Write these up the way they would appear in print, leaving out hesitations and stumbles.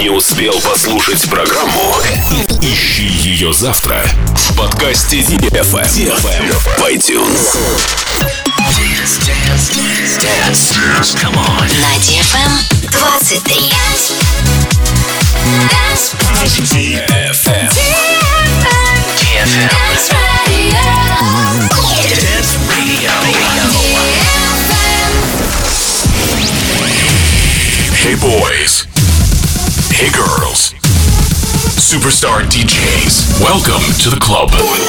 Не успел послушать программу? Ищи ее завтра в подкасте DFM в iTunes. Dance. Come on. На DFM 23. DFM. Dance Radio. Hey boys. Hey girls. Superstar DJs. Welcome to the club.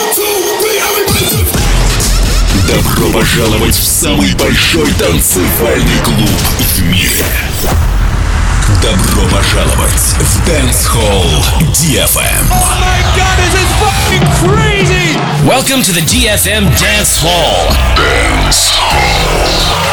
Добро пожаловать в самый большой танцевальный клуб в мире. Добро пожаловать в Dance Hall DFM. Oh my god, this is fucking crazy! Welcome to the DFM Dance Hall. Dance Hall.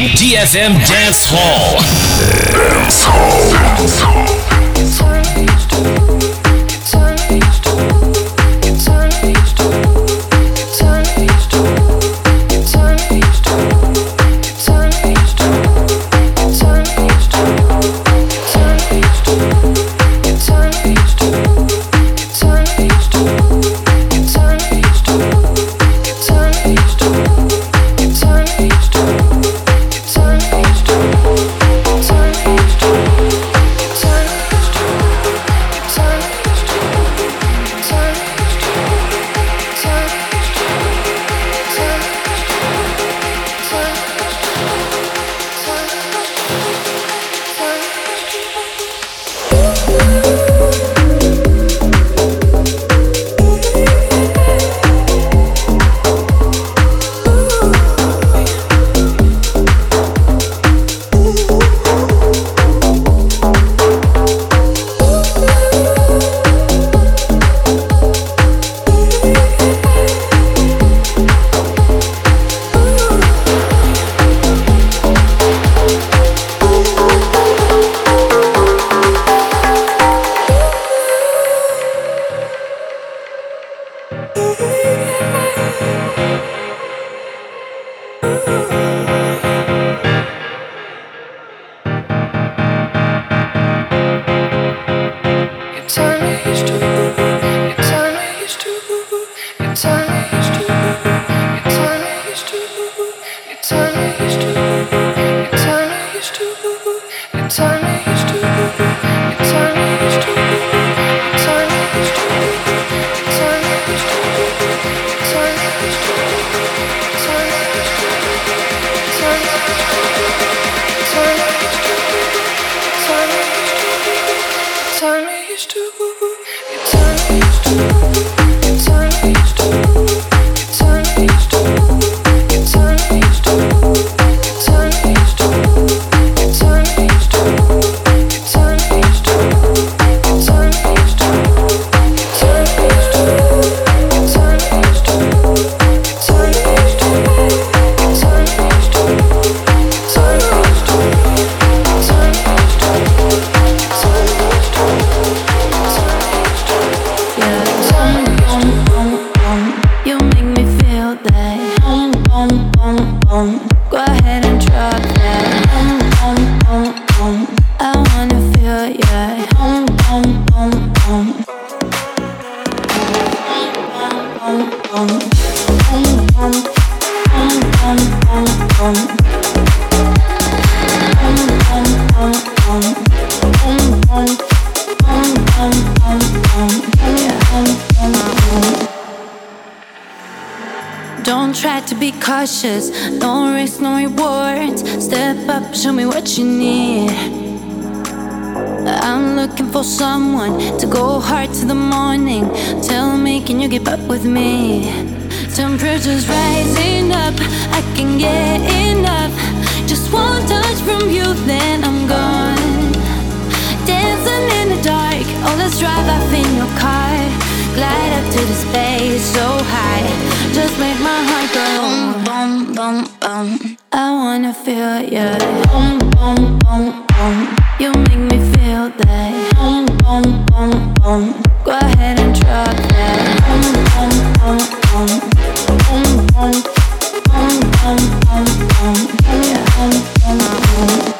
DFM Dance Hall. Dance Hall. Don't try to be cautious, no risk, no rewards. Step up, show me what you need. I'm looking for someone to go hard to the morning. Tell me, can you keep up with me? Temperature's rising up, I can get enough. Just one touch from you, then I'm gone. Dancing in the dark, oh let's drive off in your car. Glide up to the space so high. Just make my heart go boom, boom, boom, boom. I wanna feel ya. Boom, boom, boom, boom. You make me feel that. Boom, boom, boom, boom. Go ahead and drop that. Boom, boom, boom, boom. Boom, boom, boom, boom, boom, boom. Yeah, boom, boom, boom.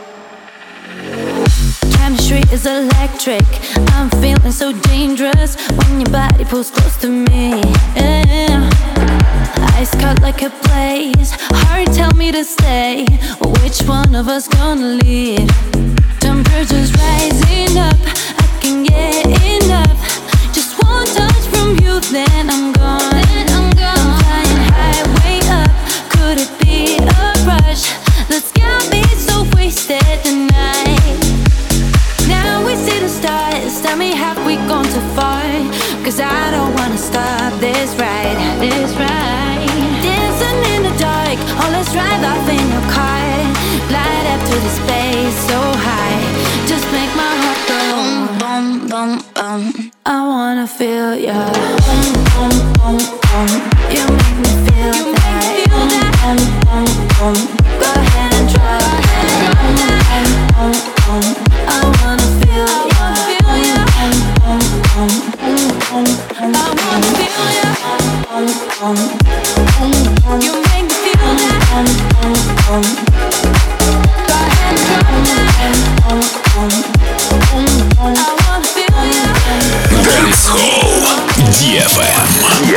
Chemistry is electric. I'm feeling so dangerous when your body pulls close to me. Yeah. Eyes cut like a blaze. Heart tell me to stay. Which one of us gonna lead? Temperature's rising up, I can get enough. Just one touch from you, then I'm gone. I'm flying high, way up. Could it be a rush? Let's get me so wasted tonight. Now we see the stars. Tell me, have we gone too far? Cause I don't wanna stop this ride. Dancing in the dark, oh let's drive off in your car. Glide up to the space so high. Just make my heart go boom, boom, boom, boom. I wanna feel ya. Boom, boom, boom, boom. You make me feel that. Boom, boom, boom, boom. Go ahead and Dancehall DFM.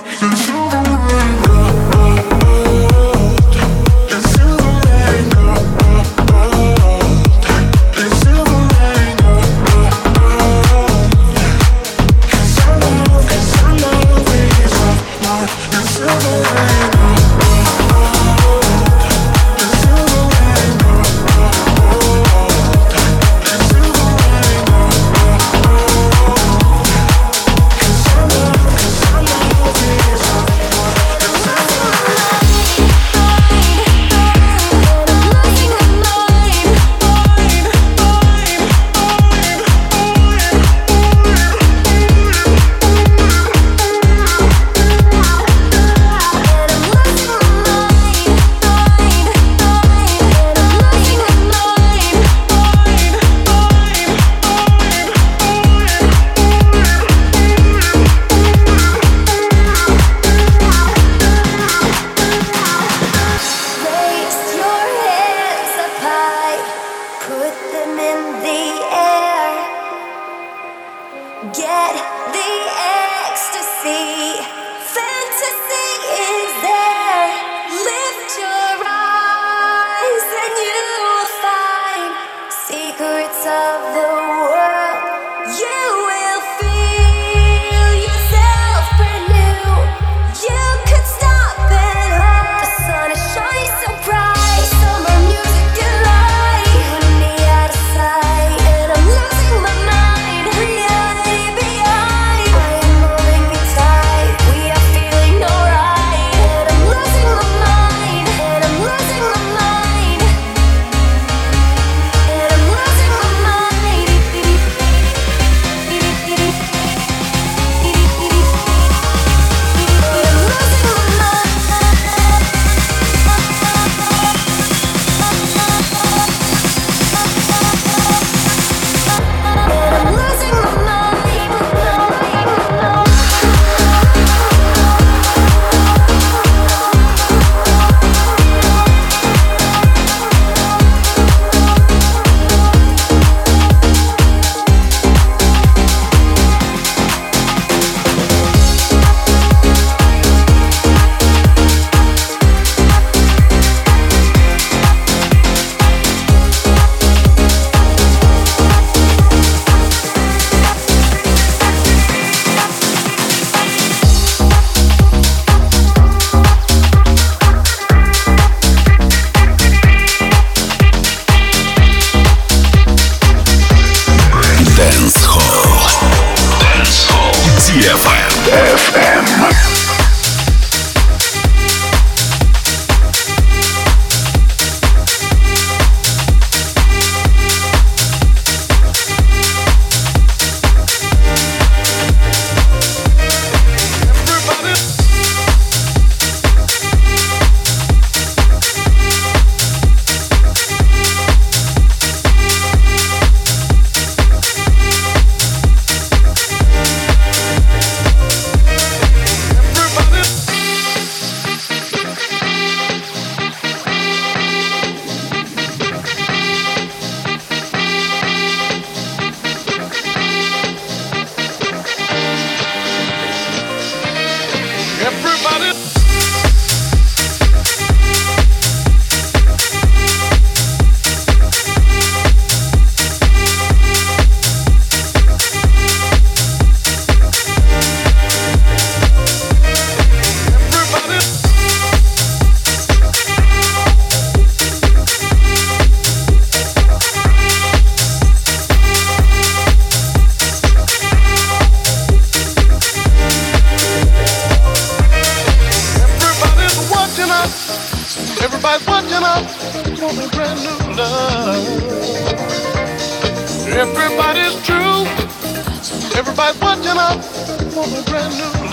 Everybody's true. Everybody's watching up for a brand new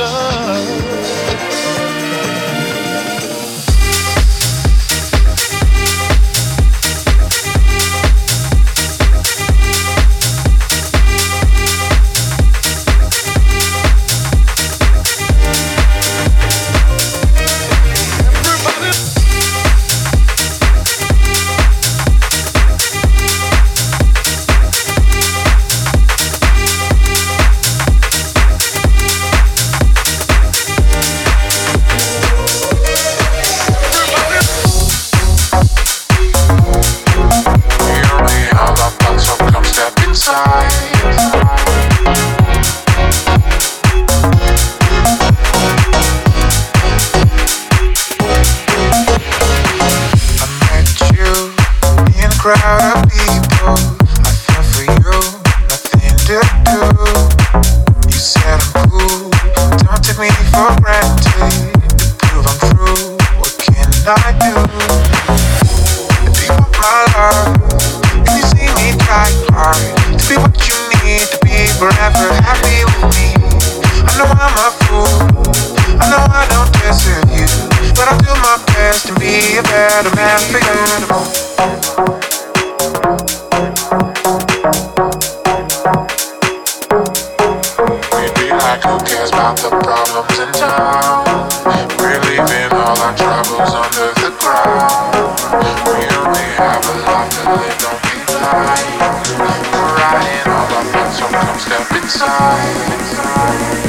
love. I do. Do you want my love? Can you see me try hard to be what you need to be forever happy with me? I know I'm a fool, I know I don't deserve you, but I'll do my best to be a better man for you. Who cares about the problems in town? We're leaving all our troubles under the ground. We only have a life to live, don't be blind. We're riding all our fun, so come step inside.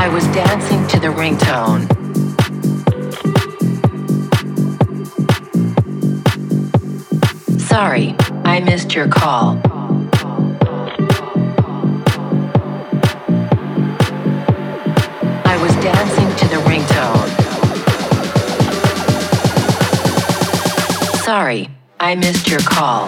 I was dancing to the ringtone. Sorry, I missed your call. I was dancing to the ringtone. Sorry, I missed your call.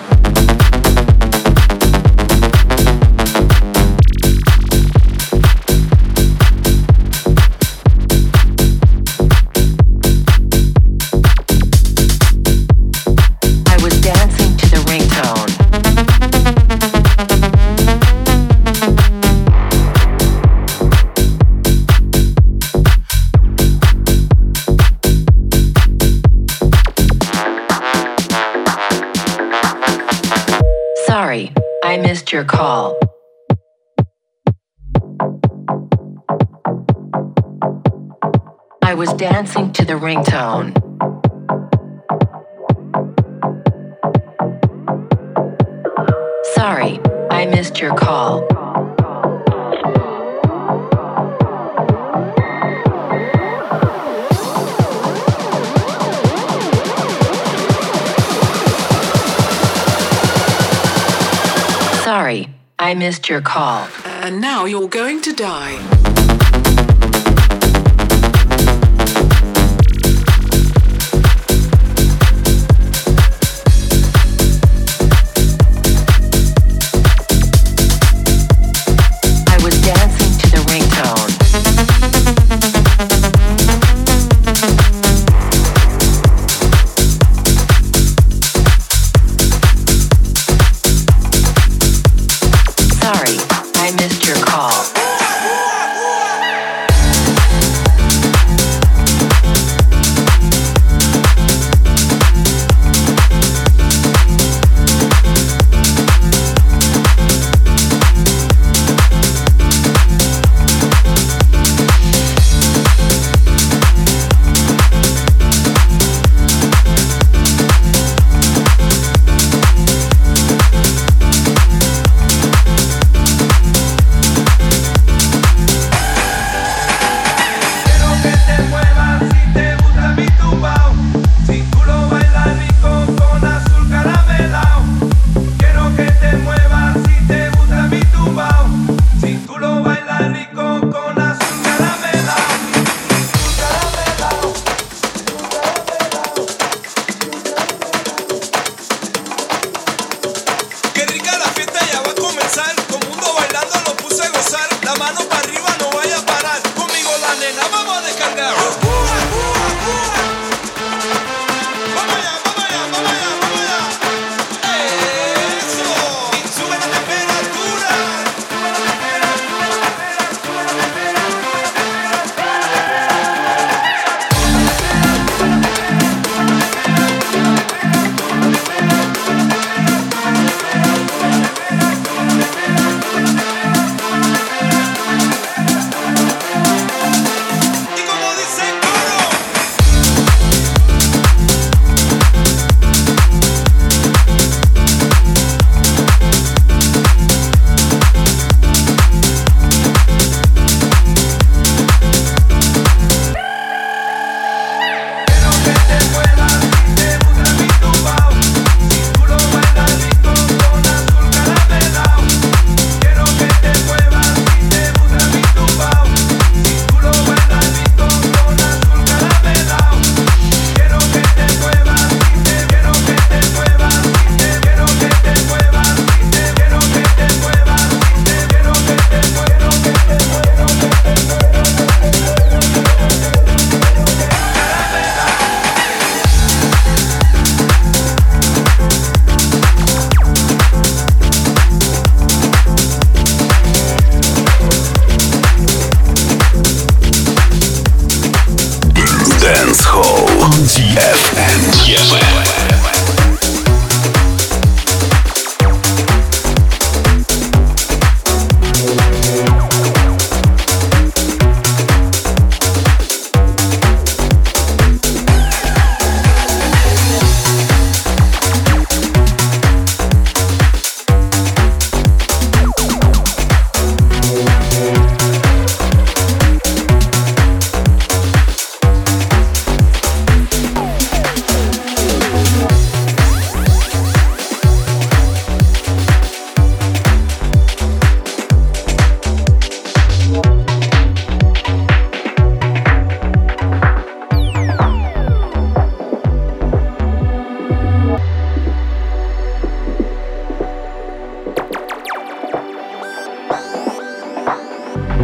I missed your call. I was dancing to the ringtone. Sorry, I missed your call. Sorry, I missed your call. And now you're going to die. I was dancing to the ringtone. Sorry, I missed your call. Y como dice el coro,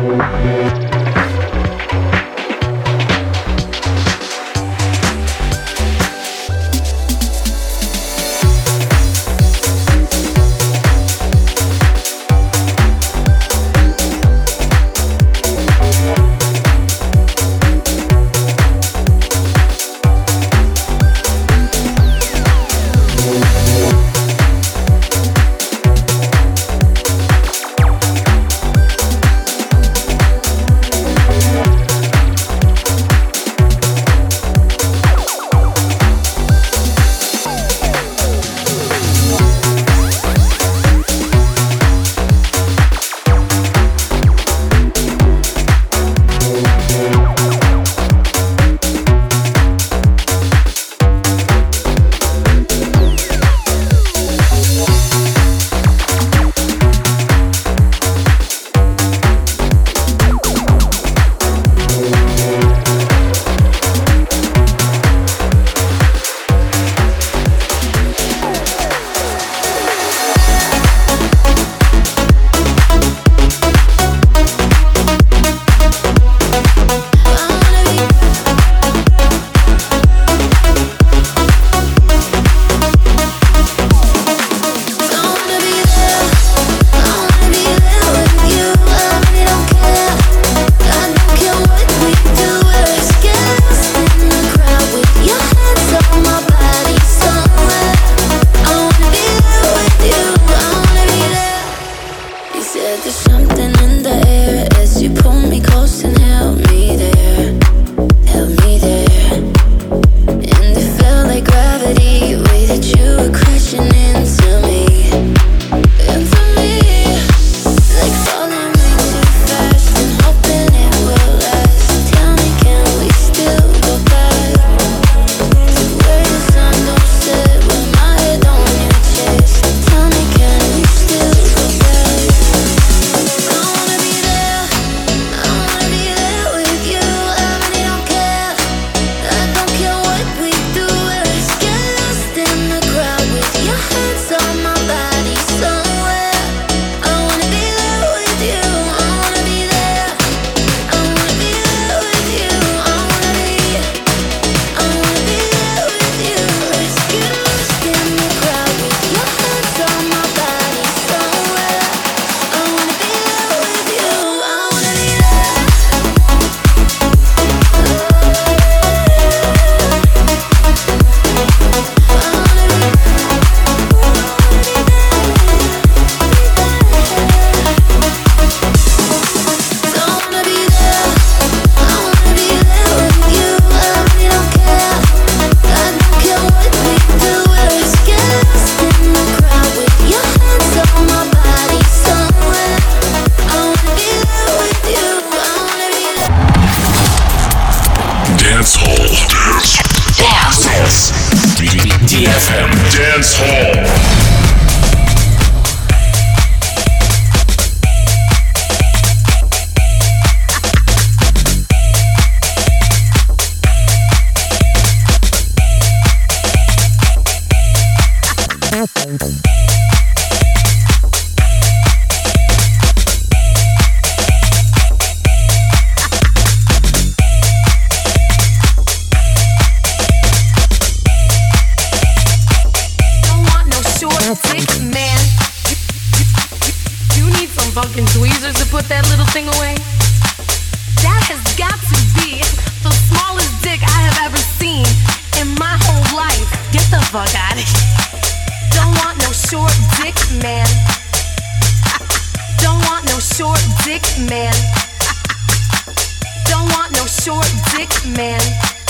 DFM Dance Hall. Fucking tweezers to put that little thing away. That has got to be the smallest dick I have ever seen in my whole life. Get the fuck out of here. Don't want no short dick, man. Don't want no short dick, man. Don't want no short dick, man.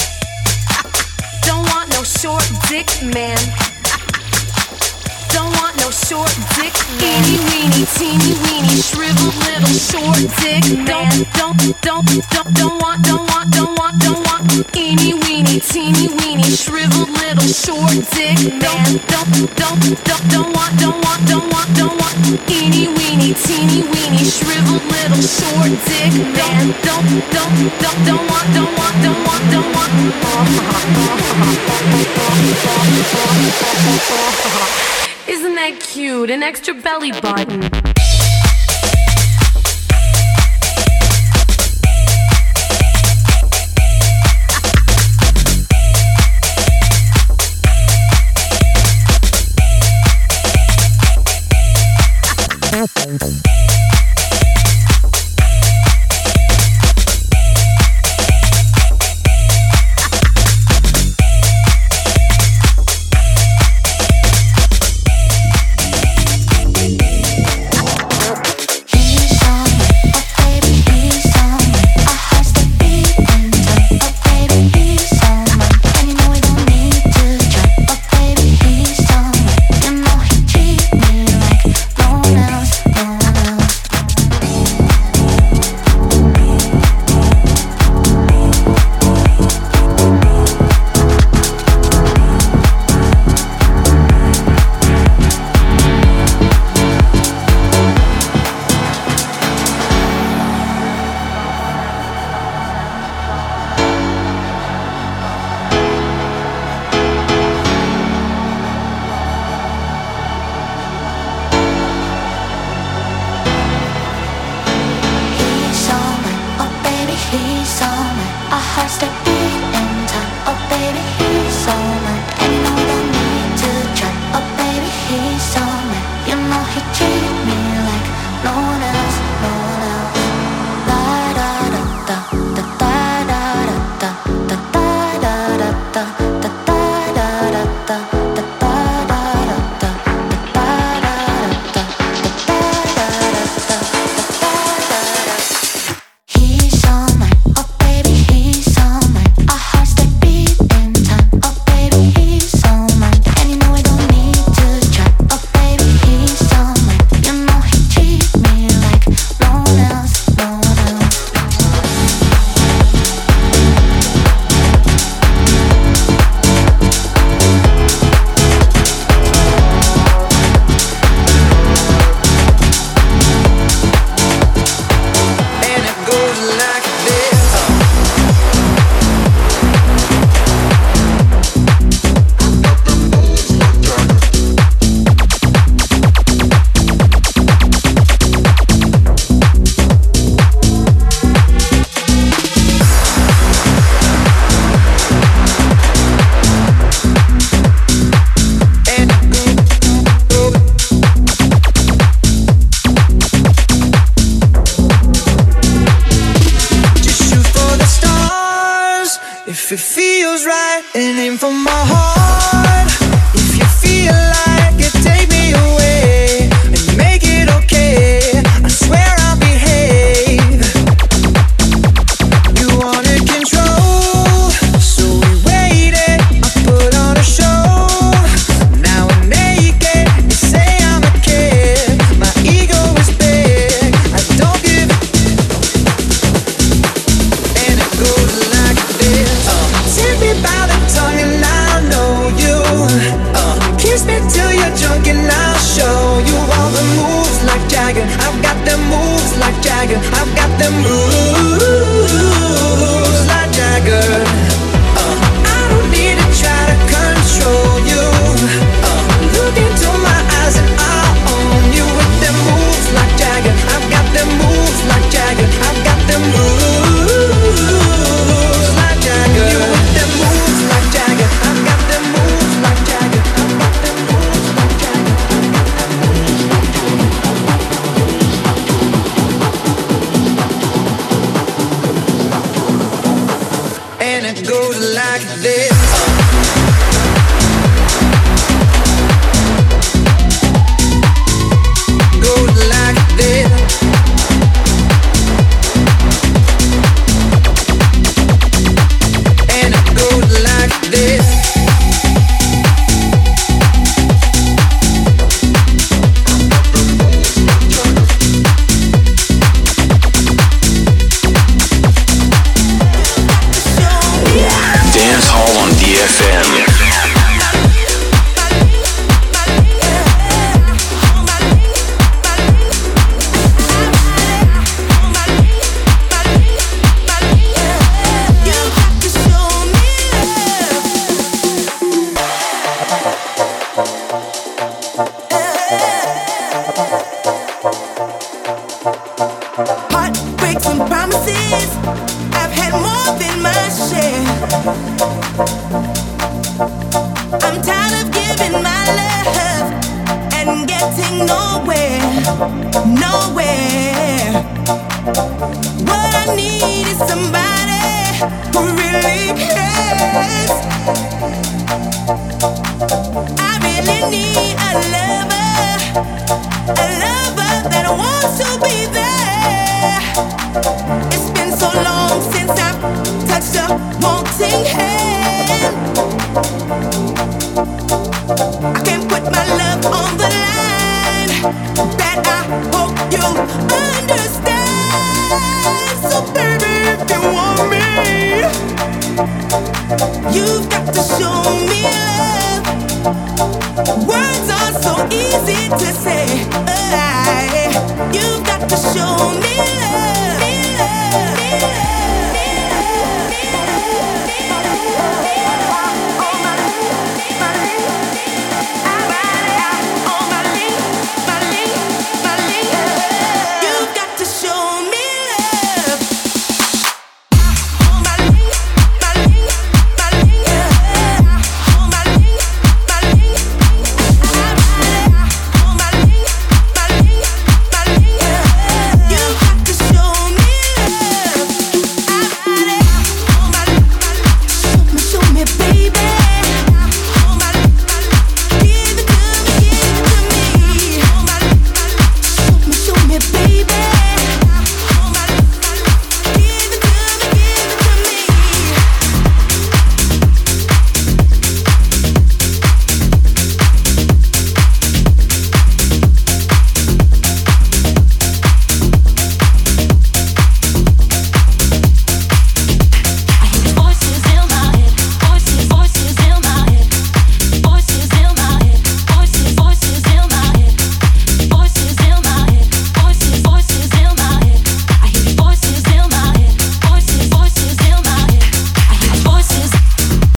Don't want no short dick, man. Don't want no short dick, teeny weeny, teeny weeny, shriveled little short dick, man. Don't want, teeny weeny, teeny weeny, shriveled little short dick, man. Don't want, teeny weeny, teeny weeny, shriveled little short dick, man. Don't want. Isn't that cute? An extra belly button. If it feels right and aim for my heart. If you feel like it, take me away and make it okay. I swear I'll behave. You wanted control, so we waited. I put on a show. Now I'm naked. You say I'm a kid. My ego is big. I don't give it. And it goes like this. Take me by the tongue and I'll know you. Kiss me till you're drunk and I'll show you all the moves like Jagger. I've got them moves like Jagger. I've got them moves like Jagger. I don't need to try to control you. Look into my eyes and I'll own you with them moves like Jagger. I've got them moves like Jagger. I've got them moves like Jagger. You with them moves like Jagger. I've got them moves like Jagger. I've got them moves like Jagger. And it goes like this. Goes like this. And it goes like this. Dance Hall on DFM. Heartbreaks and promises, I've had more than my share. I'm tired of giving my love and getting nowhere. nowhere. What I need is somebody who really cares. I really need a lover that wants to be there. It's been so long since I've touched a wanting hand. I can't put my love on the line. That I hope you understand. So baby, if you want me, you've got to show me love.